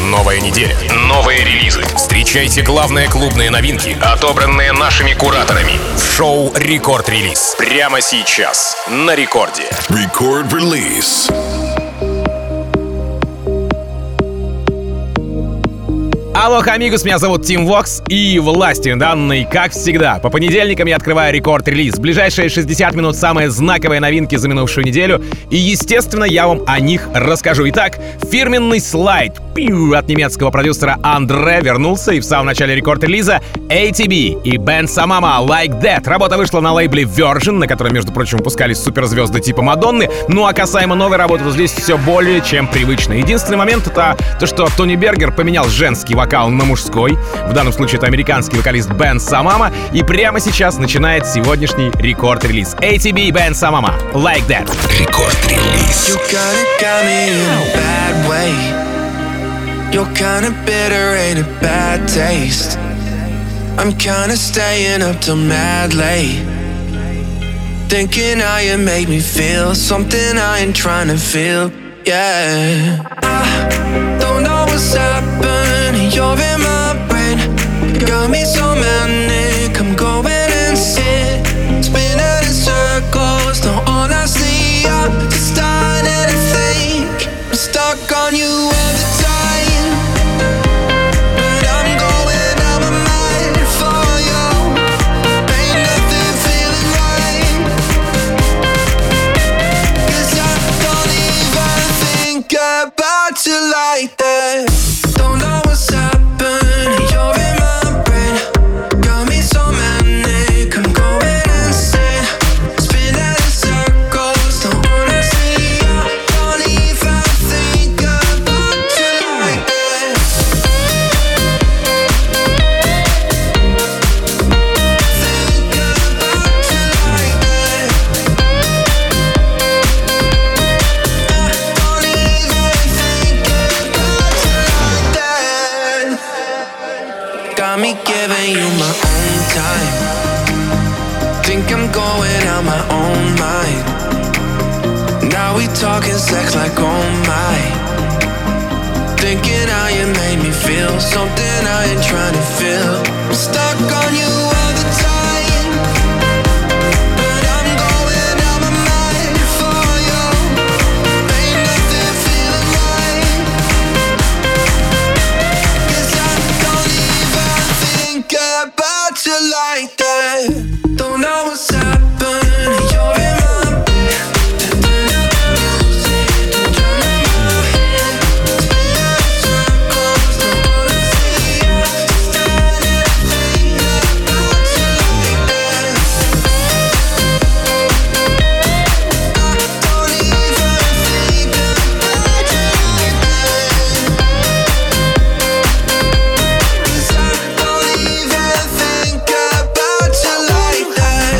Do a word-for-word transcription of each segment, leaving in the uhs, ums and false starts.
Новая неделя, новые релизы. Встречайте главные клубные новинки, отобранные нашими кураторами, в шоу «Рекорд-релиз». Прямо сейчас на Рекорде. Рекорд-релиз. Алло, амигос, меня зовут Тим Вокс, и власти данной, как всегда, по понедельникам я открываю рекорд-релиз. В ближайшие шестьдесят минут самые знаковые новинки за минувшую неделю, и, естественно, я вам о них расскажу. Итак, фирменный слайд пиу, от немецкого продюсера Андре вернулся, и в самом начале рекорд-релиза эй ти би и Бен Самама Like That. Работа вышла на лейбле Virgin, на котором, между прочим, выпускались суперзвезды типа Мадонны. Ну а касаемо новой работы, то здесь все более чем привычно. Единственный момент — это то, что Тони Бергер поменял женский вокал на мужской. В данном случае это американский вокалист Бен Самама. И прямо сейчас начинает сегодняшний рекорд-релиз. эй ти би и Бен Самама Like That. Рекорд-релиз. You're kinda bitter, ain't a bad taste. I'm kinda staying up till mad late, thinking how you make me feel something I ain't trying to feel. Yeah, I don't know what's happening. You're in my brain, got me so manic. I'm going insane, spinning in circles. No, honestly, I'm just starting to think I'm stuck on you all the time. About you like that. Don't know what's happening. You're in my brain, got me so manic. I'm going insane, spinning in circles. Don't wanna see you, don't even think about you like that. Think about you like that. Don't got me giving you my own time. Think I'm going out my own mind. Now we talking sex like oh my. Thinking how you made me feel something I ain't trying to feel. I'm stuck on you all the time, but I'm going out my mind for you. Ain't nothing feeling right, 'cause I don't even think about you like that. Don't know what's happening. You're in my bed, turn up the music, turn up my head, spinning in circles. Don't wanna see you, standing and think about you like that. I don't even think about you like that, 'cause I don't even think about you like that.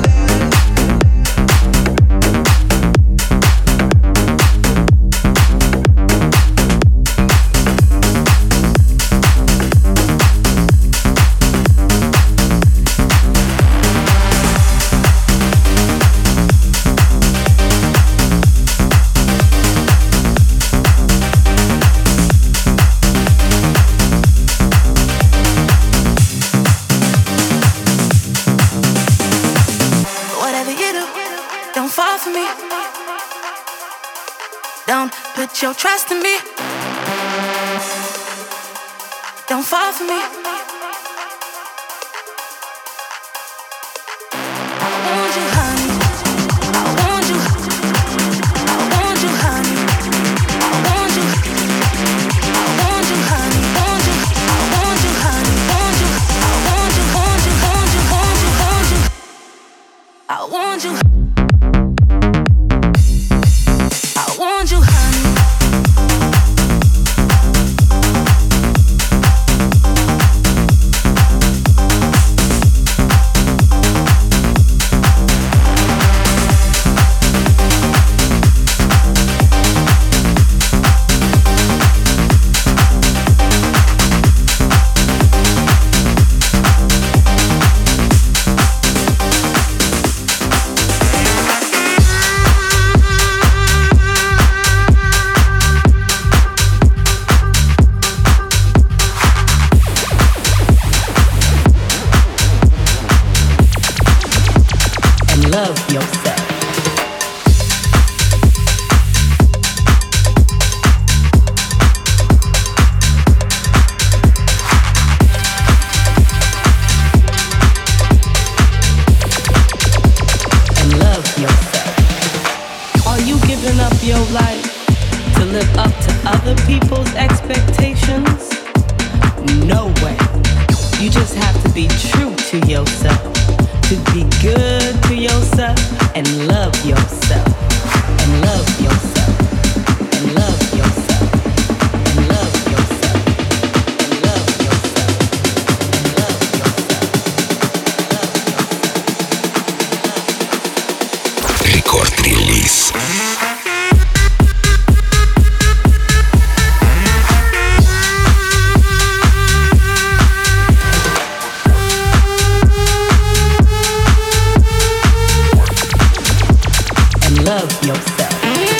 Whatever you do, don't fall for me. Don't put your trust in me. Don't fall for me. I want you, honey. I want you. I want you, honey. I want you. I want you, honey. Want you. I want you, honey. Want you. I want you. Want you. Want you. Want you. Want you. I want you. I want you, honey. people's expectations? No way. You just have to be true to yourself, to be good to yourself and love yourself, and love yourself, and love yourself, and love yourself, and love yourself, and love yourself. Рекорд-релиз. Love yourself.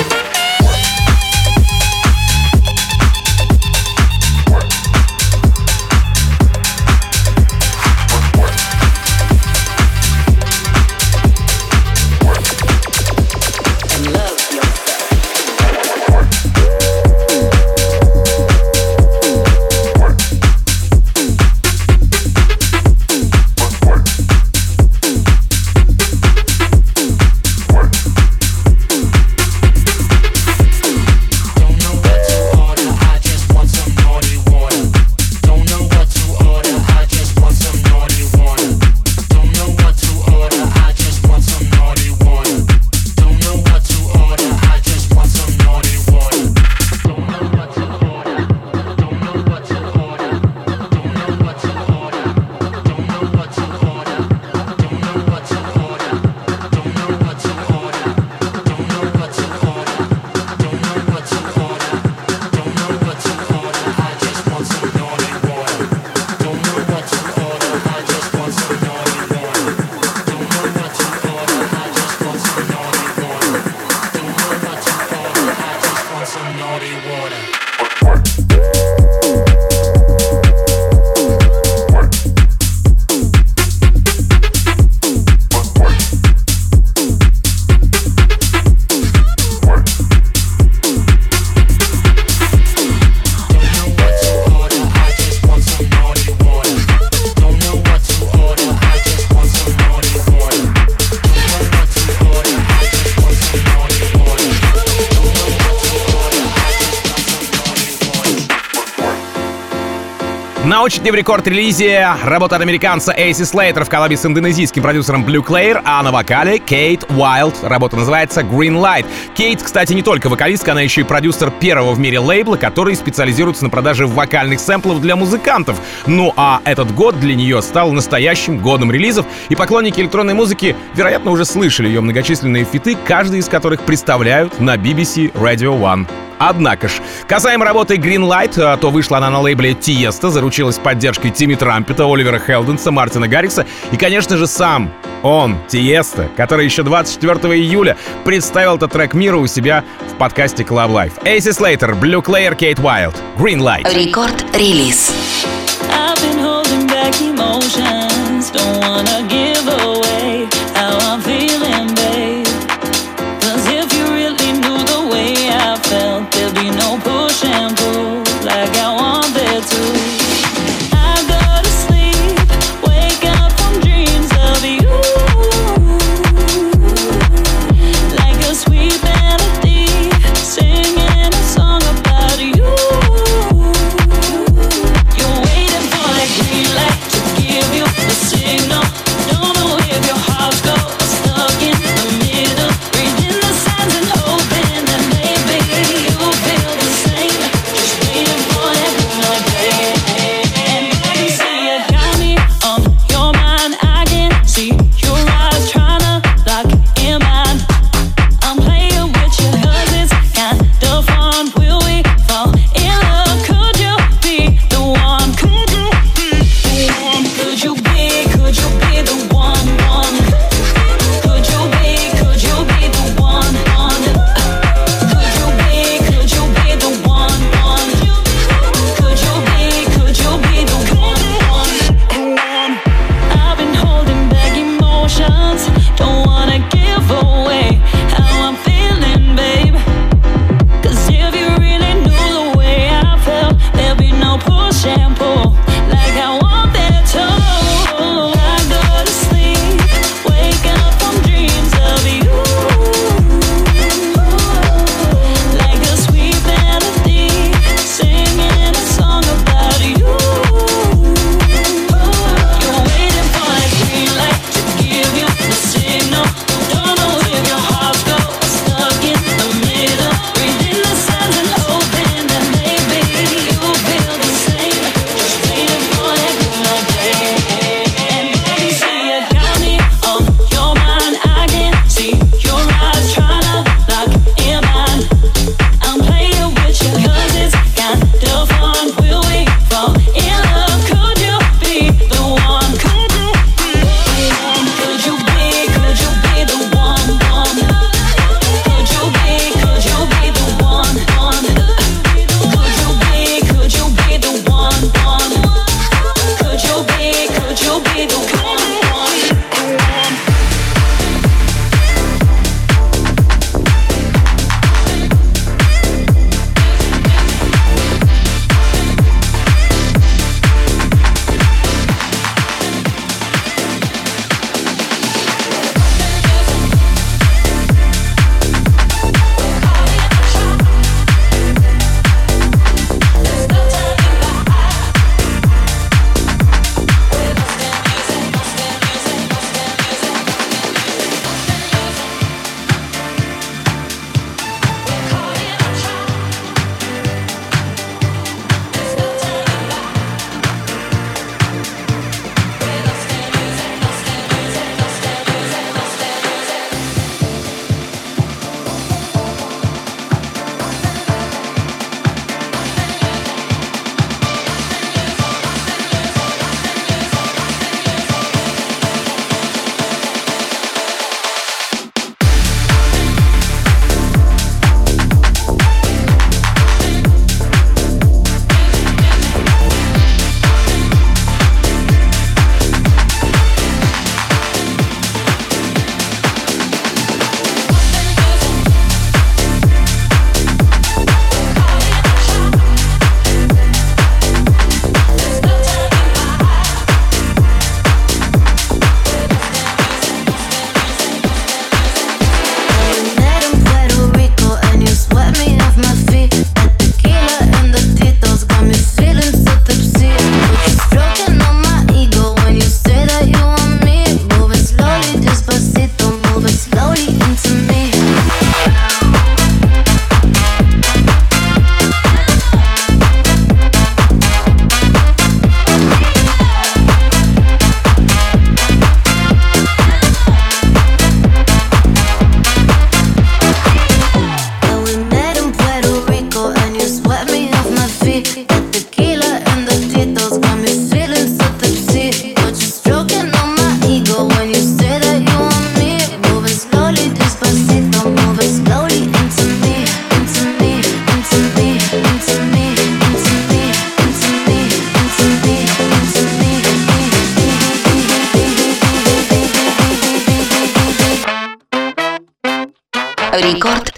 На очереди в рекорд-релизе работа от американца Эйси Слейтер в коллабе с индонезийским продюсером Blue Clair, а на вокале Кейт Уайлд. Работа называется Green Light. Кейт, кстати, не только вокалистка, она еще и продюсер первого в мире лейбла, который специализируется на продаже вокальных сэмплов для музыкантов. Ну а этот год для нее стал настоящим годом релизов, и поклонники электронной музыки, вероятно, уже слышали ее многочисленные фиты, каждый из которых представляют на би би си Radio One. Однако ж, касаемо работы Green Light, то вышла она на лейбле Tiesto, заручилась поддержкой Тимми Трампета, Оливера Хелденса, Мартина Гаррикса и, конечно же, сам он, Tiesto, который еще двадцать четвёртого июля представил этот трек миру у себя в подкасте Club Life. Эйси Слейтер, Blue Clair, Кейт Уайлд, Green Light. Рекорд-релиз. I've been holding back emotions, don't wanna give away how I'm feeling, babe. 'Cause if you really knew the way I felt, there'd be no push and pull like I want there to. I go to sleep, wake up from dreams of you, like a sweet melody, singing a song about you. You're waiting for that green light to give you the signal. Don't know if your heart's go stuck in the middle, reading the signs and hoping that maybe you feel the same. Just waiting for that green light, baby.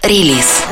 Рекорд-релиз.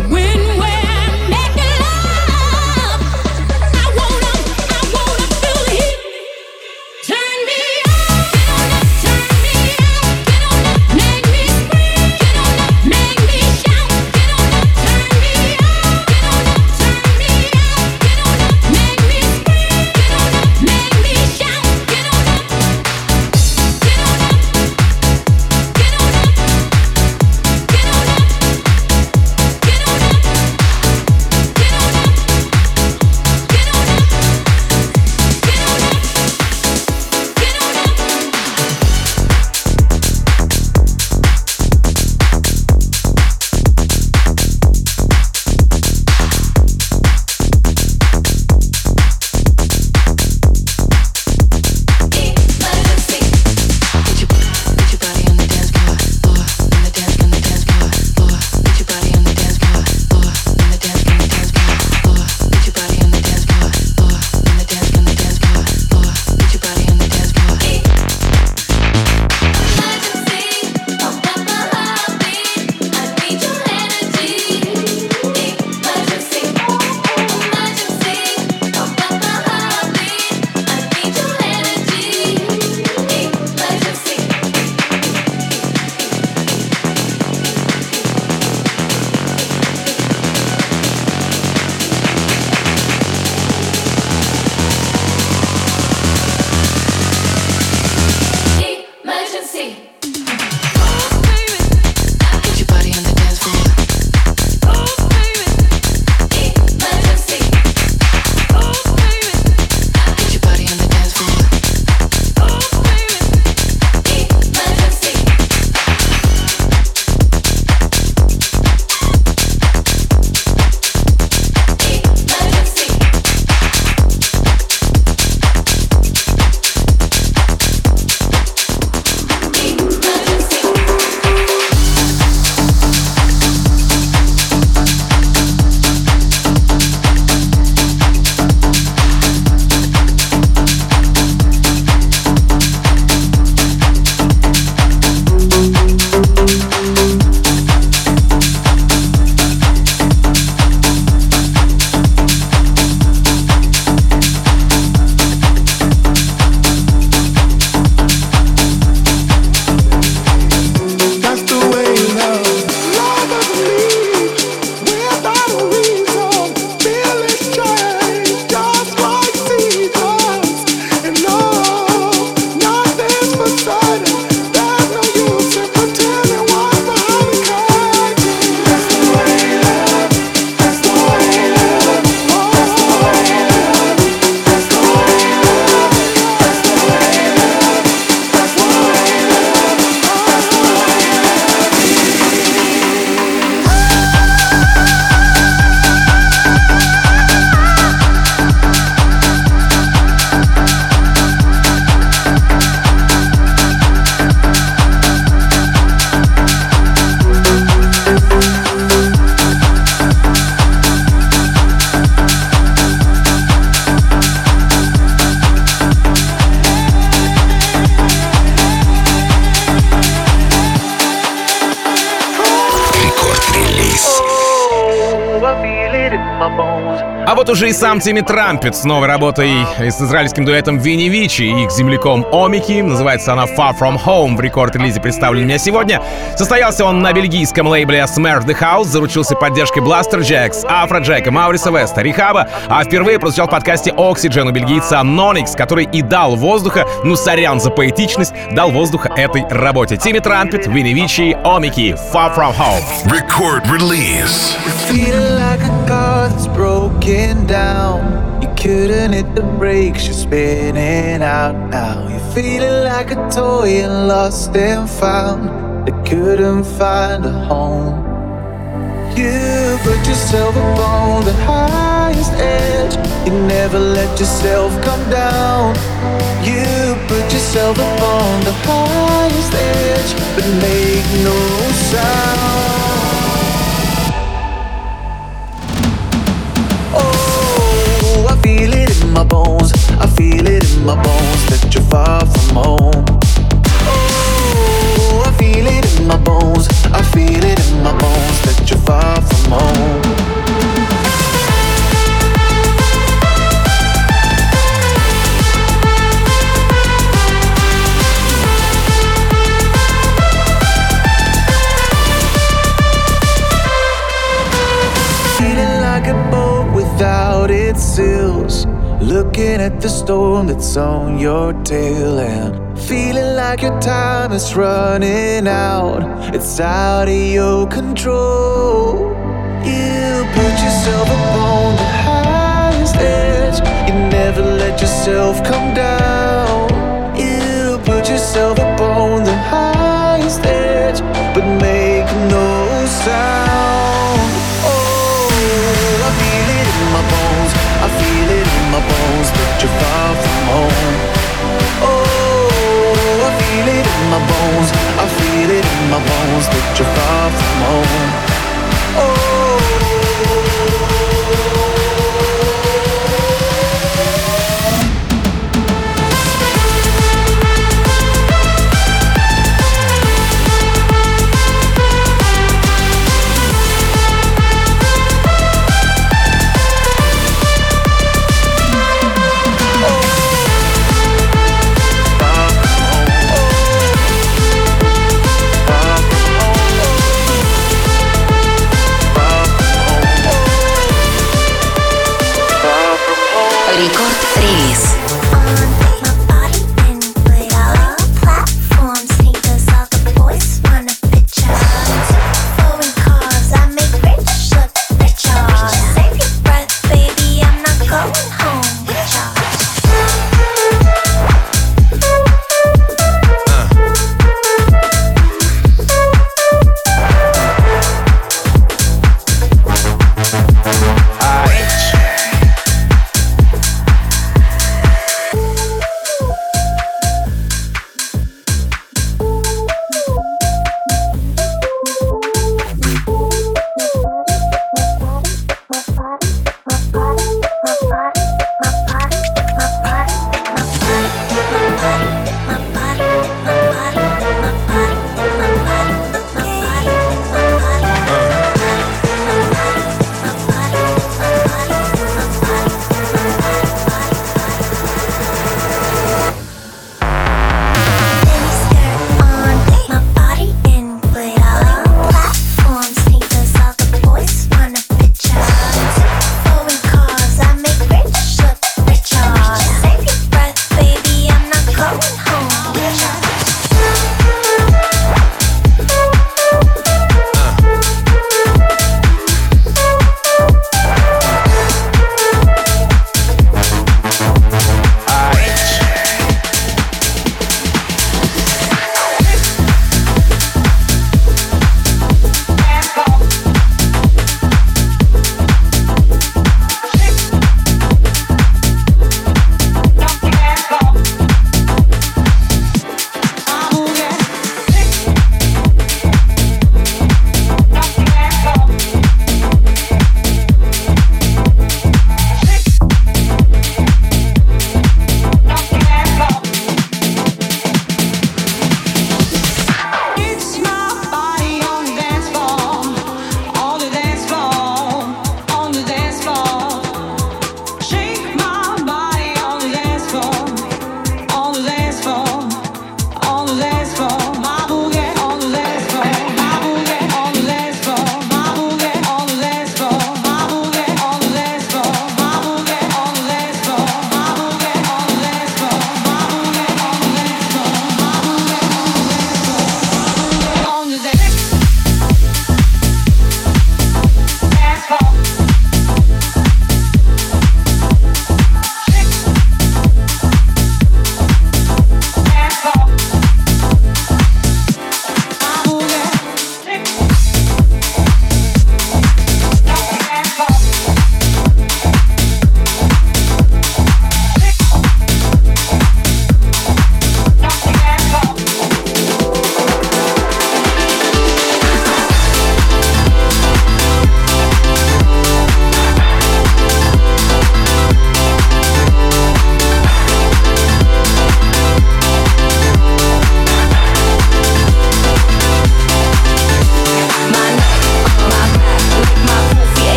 When we're making love, I wanna, I wanna feel А вот уже и сам Тимми Трампет с новой работой с израильским дуэтом Винни Вичи и их земляком Омики. Называется она Far From Home. В рекорд-релизе представлен меня сегодня. Состоялся он на бельгийском лейбле Smash the House. Заручился поддержкой Blaster Jacks, Afrojack, Мауриса Веста, Рихаба. А впервые прозвучал в подкасте Oxygen у бельгийца Nonix, который и дал воздуха, ну сорян за поэтичность, дал воздуха этой работе. Тимми Трампет, Винни Вичи, Омики, Far From Home. Record release. Broken down, you couldn't hit the brakes, you're spinning out now. You're feeling like a toy and lost and found that couldn't find a home. You put yourself up on the highest edge, you never let yourself come down. You put yourself up on the highest edge, but make no sound. I feel it in my bones, I feel it in my bones that you're far from home. Oh, I feel it in my bones, I feel it in my bones that you're far from home. Feeling like a boat without its sails, looking at the storm that's on your tail, and feeling like your time is running out, it's out of your control. You put yourself upon the highest edge, you never let yourself come down. You put yourself upon the highest edge, but make no sound. Oh, I feel it in my bones, I feel it in my bones that you're far from home. Oh, I feel it in my bones, I feel it in my bones that you're far from home. Oh. Рекорд-релиз.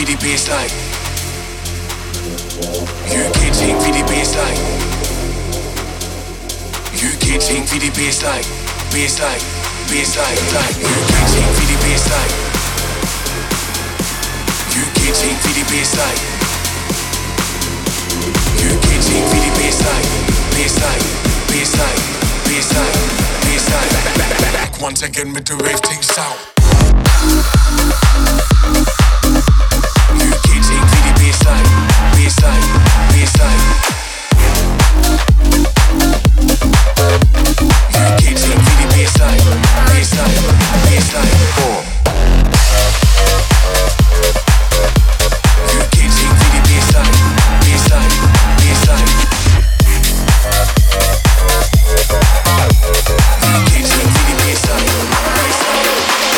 for the baseline. U K ting for the baseline. U K ting for the baseline. Baseline, baseline, line. U K ting for the baseline. U K ting for the baseline. U K ting for the baseline. Baseline, baseline, baseline, baseline. Back, back, back, back once again with the rave ting sound. U K ting for the baseline. Baseline, baseline. U K ting for the baseline. Baseline, baseline. U K ting for the baseline. Baseline, baseline. U K ting for the baseline. Baseline,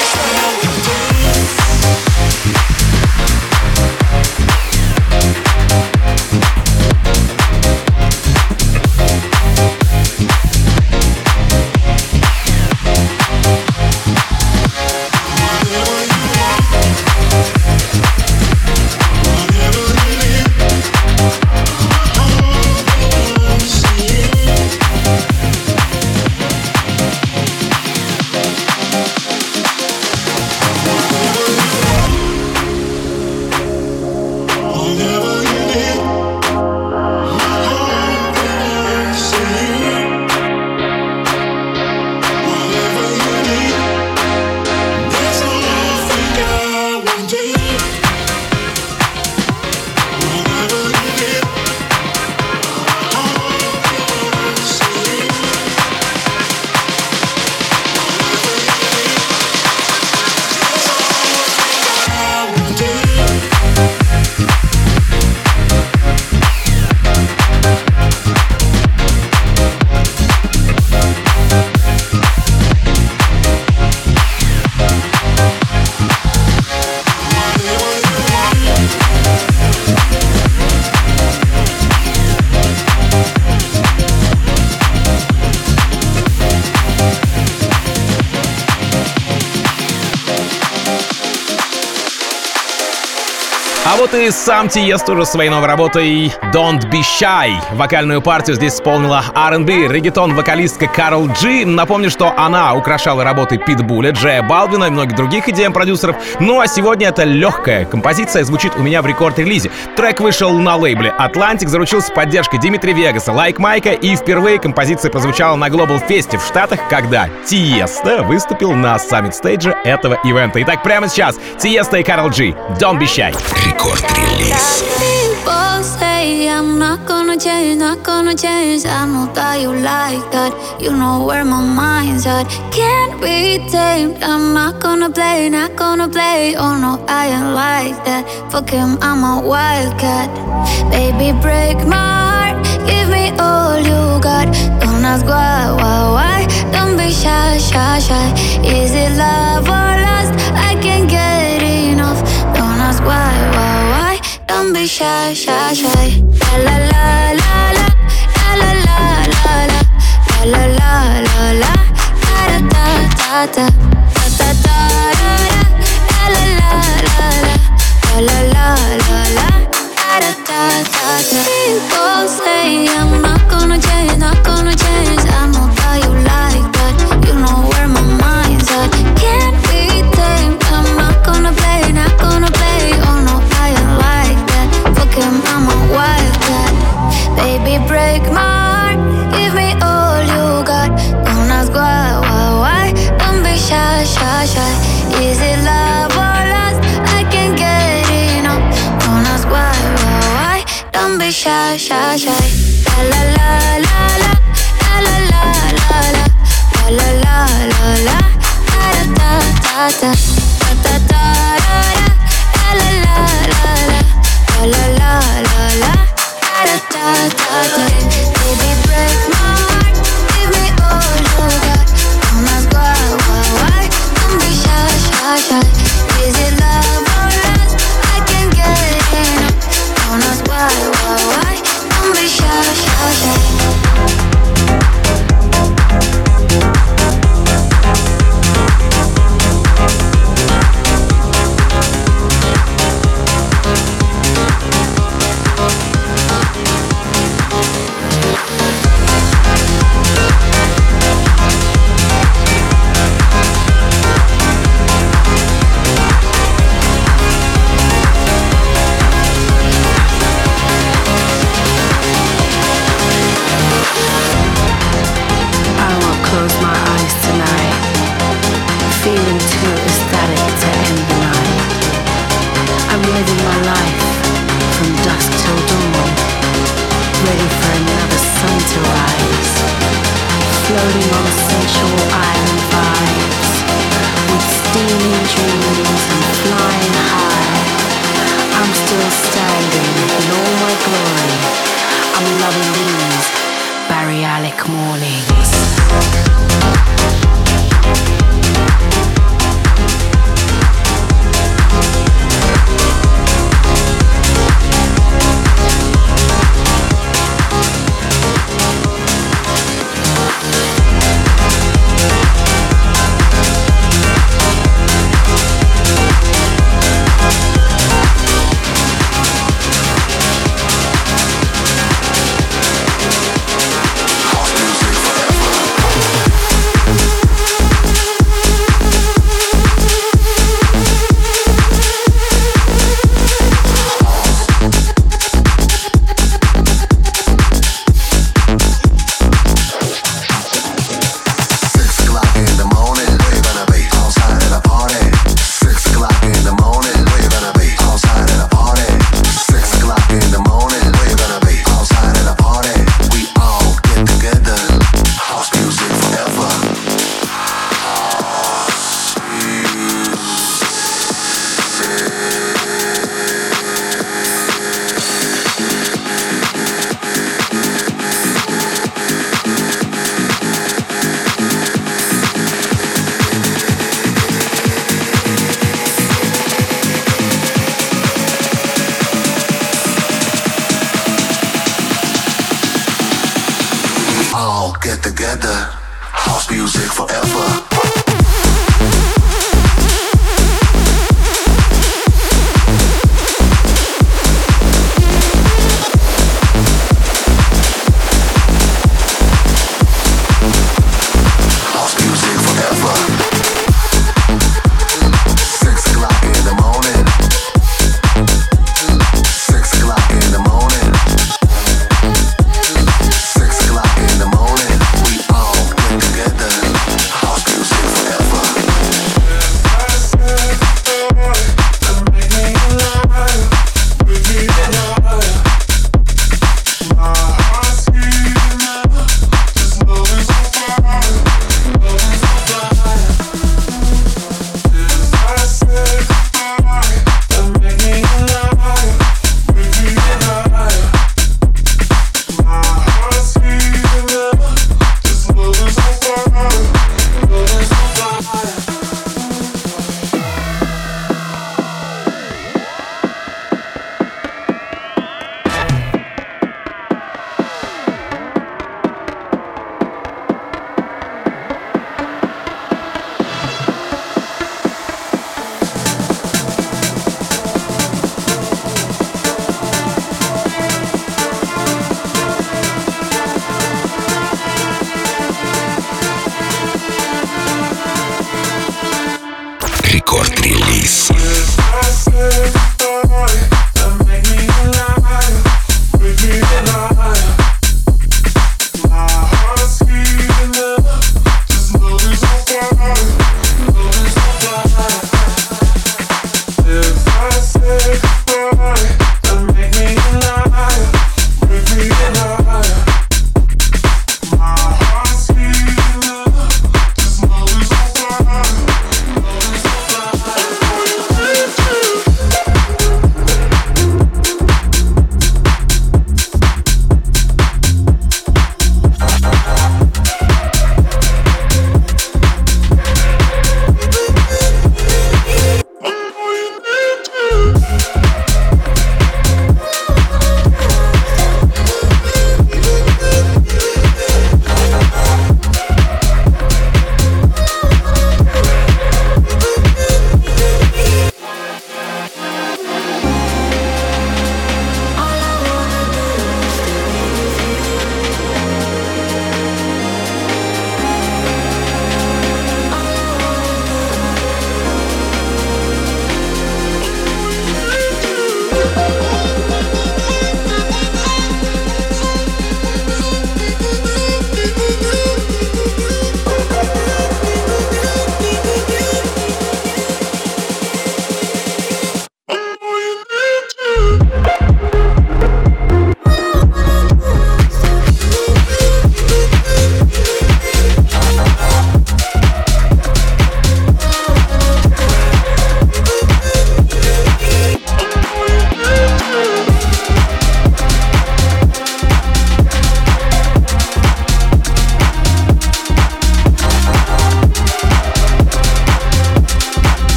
А вот и сам Тиест уже своей новой работой «Don't Be Shy». Вокальную партию здесь исполнила ар энд би реггетон-вокалистка Карл Джи. Напомню, что она украшала работы Питбуля, Джея Балвина и многих других и ди эм-продюсеров. Ну а сегодня эта легкая композиция звучит у меня в рекорд-релизе. Трек вышел на лейбле Atlantic, заручился поддержкой Димитри Вегаса, Лайк Майка, и впервые композиция прозвучала на Global Fest в Штатах, когда Тиеста выступил на саммит-стейдже этого ивента. Итак, прямо сейчас Тиеста и Карл Джи «Don't Be Shy». Release. People say I'm not gonna change, not gonna change. I know that you like that. You know where my mind's at. Can't be tamed. I'm not gonna play, not gonna play. Oh no, I ain't like that. Fuck him, I'm a wildcat. Baby, break my heart. Give me all you got. Don't ask why, why, why. Don't be shy, shy, shy. Is it love or lust? I can't get enough. Don't ask why, why, why. Don't be shy, shy, shy. La la la la la la la la la la la la la la da da da da da da da la la la la la la la la da da da da. People say I'm not gonna change, not gonna change. I know that you like that. You know where my mind's at. Can't be tamed. I'm not gonna play, not gonna play. Oh no, I ain't like that. Fuck him, I'm a wildcat. Baby, break my heart. Give me all you got. Don't ask why, why, why. Don't be shy, shy, shy. Is it love or lust? I can't get enough. Don't ask why, why, why. Don't be shy, shy, shy. La la la la la la la la la la la la la la da da da da da da da da la la la la la la la la da da da da. Baby, break my heart. Give me all you got. Don't ask why, why, why. Don't be shy, shy, shy. Is it love or lust? I can't get enough. Don't ask why, why, why. Don't be shy, shy, shy.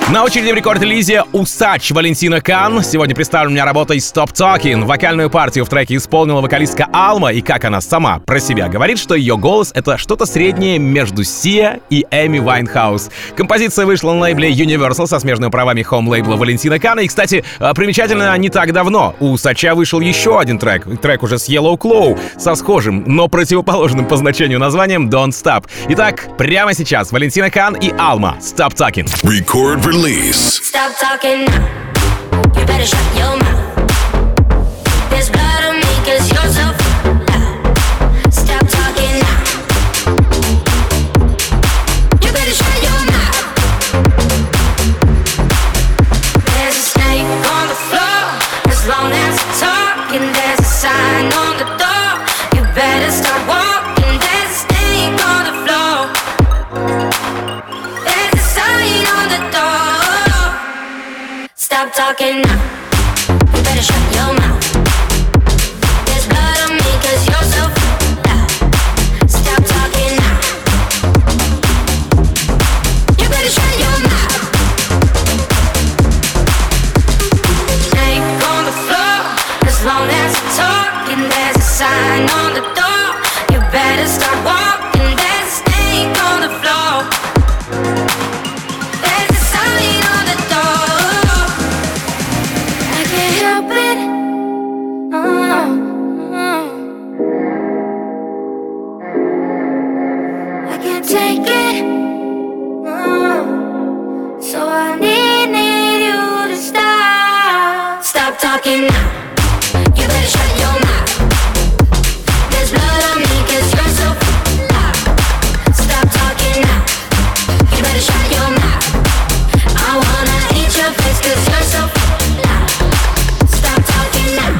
На очереди в рекорд-релизе «Усач» Валентина Кан. Сегодня представлена у меня работа «Stop Talking». Вокальную партию в треке исполнила вокалистка Алма, и как она сама про себя говорит, что ее голос — это что-то среднее между Сиа и Эми Вайнхаус. Композиция вышла на лейбле Universal со смежными правами хоум-лейбла Валентина Кана. И, кстати, примечательно, не так давно у «Усача» вышел еще один трек, трек уже с Yellow Claw, со схожим, но противоположным по значению названием «Don't Stop». Итак, прямо сейчас Валентина Кан и Алма «Stop Talking». Record release. Stop talking now. You better shut your mouth. There's blood on me 'cause you're so loud. Stop talking now. You better shut your mouth. There's a snake on the floor. As long as you're talking, there's a sign on the door. You better start walking. There's a snake on the floor. There's a sign on the door. Stop talking now. You better shut your mouth. There's blood on me 'cause you're so loud. Stop talking now. You better shut your mouth. Snake on the floor. As long as you're talking, there's a sign on the door. You better start walking. There's a snake on the floor. There's a sign on the door. I can't help it. Oh, oh. I can't take it. Oh. So I need, need you to stop. Stop talking now. You better shut your mouth. There's blood on me 'cause you're so loud. Stop talking now. You better shut your mouth. I wanna eat your face 'cause you're so loud. Stop talking now.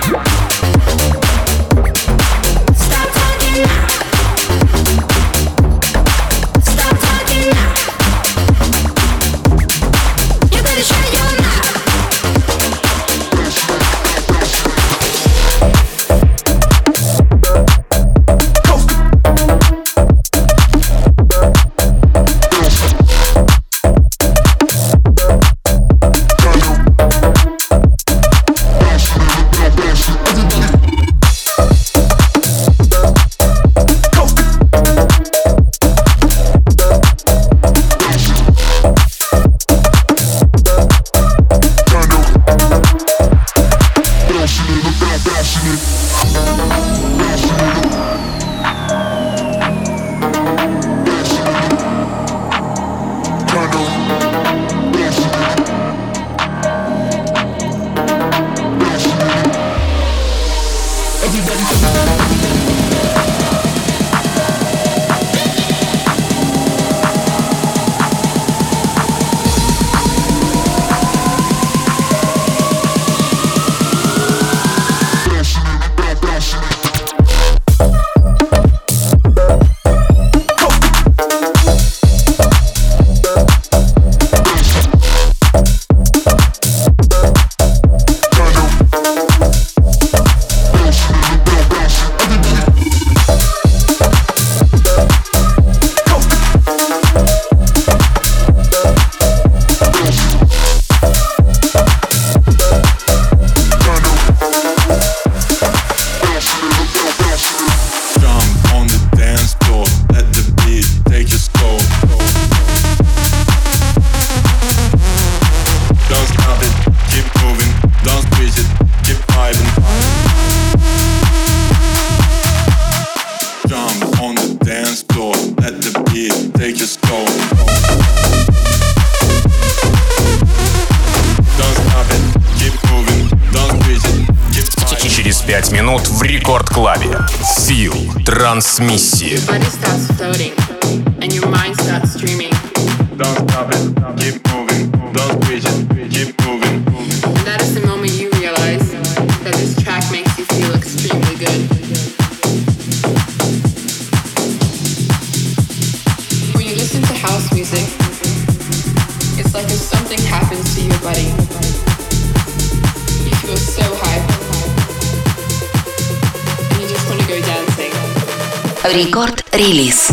Stop talking now. Stop talking now. You better shut your mouth. пять минут в рекорд-клабе. Фил Трансмиссии. Don't stop it, keep moving, don't switch it, keep moving. And that is the moment you realize that this track makes you feel extremely good. When you listen to house music, it's like if something happens to your body. You feel so high. And you just want to go dancing. Record release.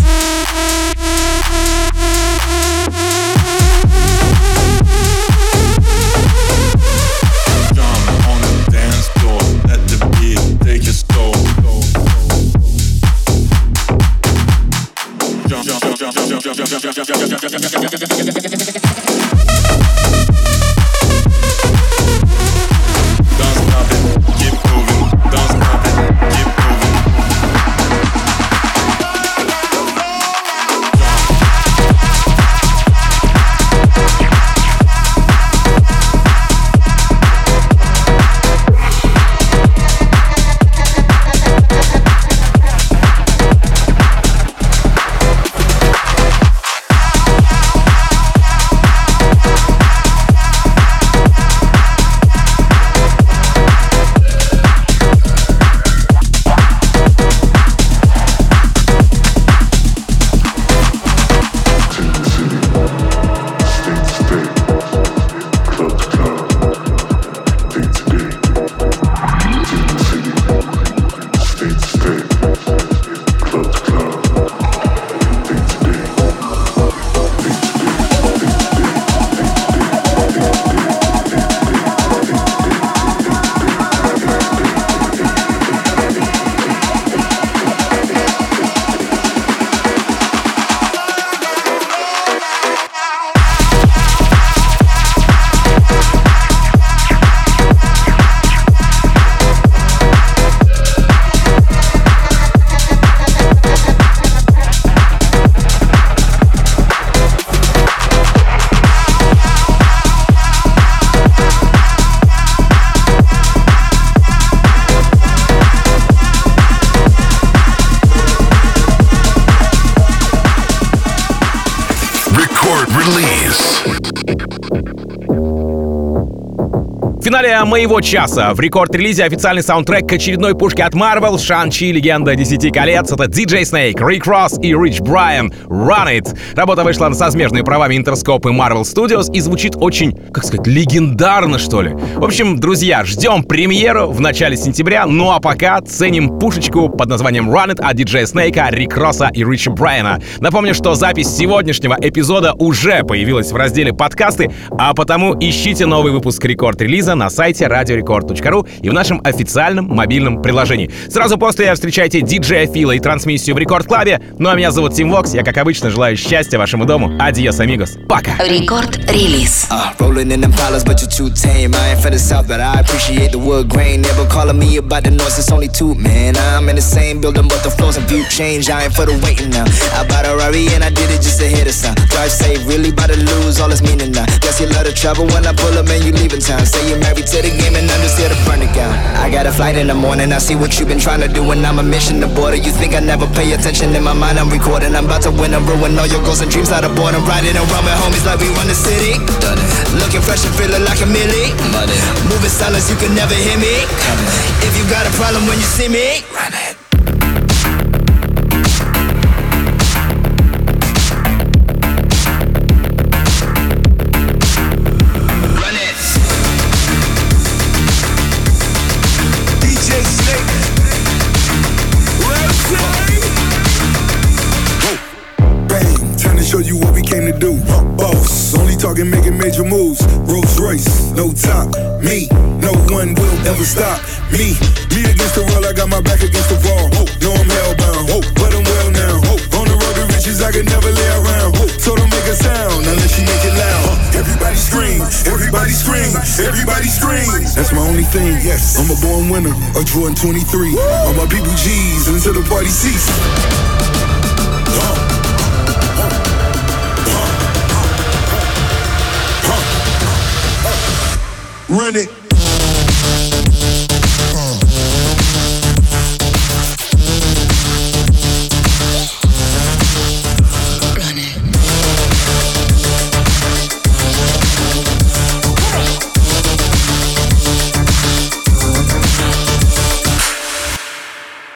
В финале моего часа в рекорд-релизе официальный саундтрек к очередной пушке от Marvel, Шан-Чи, Легенда Десяти колец. Это ди джей Snake, Rick Ross и Rich Brian, Run It. Работа вышла со смежными правами Interscope и Marvel Studios и звучит очень, как сказать, легендарно, что ли. В общем, друзья, ждем премьеру в начале сентября, ну а пока ценим пушечку под названием Run It от ди джей Snake, Рик Росса и Рича Брайана. Напомню, что запись сегодняшнего эпизода уже появилась в разделе «Подкасты», а потому ищите новый выпуск рекорд-релиза на сайте радио рекорд точка ру и в нашем официальном мобильном приложении. Сразу после встречайте диджея Фила и трансмиссию в Рекорд Клабе. Ну а меня зовут Тим Вокс. Я, как обычно, желаю счастья вашему дому. Адьос, амигос. Пока. Рекорд-релиз. Rolling in them dollars, but you're too tame. I ain't for the south, but I appreciate the wood grain. Never calling me about the noise, it's only two, man. I'm in the same building, but the floors and view change. I ain't for the waiting now. I bought a Rari and I did it just to hit a sound. Drive safe, really about to lose all its meaning now. Guess you love the trouble when I pull up and you leaving town. Say you're married to the game and I'm just here to burn it down. I got a flight in the morning, I see what you've been trying to do when I'm a mission to border. You think I never pay attention, in my mind I'm recording. I'm about to win and ruin all your goals and dreams out of boredom. Riding around with homies like we run the city. Done it. Looking fresh and feeling like a millie. Money. Moving silence, you can never hear me. Coming. If you got a problem when you see me, run it. Show you what we came to do. Boss, only talking making major moves. Rolls Royce, no top. Me, no one will ever stop me. Me against the world, I got my back against the wall. No, I'm hellbound, but I'm well now. On the road to riches, I can never lay around. So don't make a sound unless you make it loud. Everybody scream, everybody scream, everybody scream. That's my only thing. Yes, I'm a born winner, a Jordan twenty-three. All my people G's until the party cease. Run it.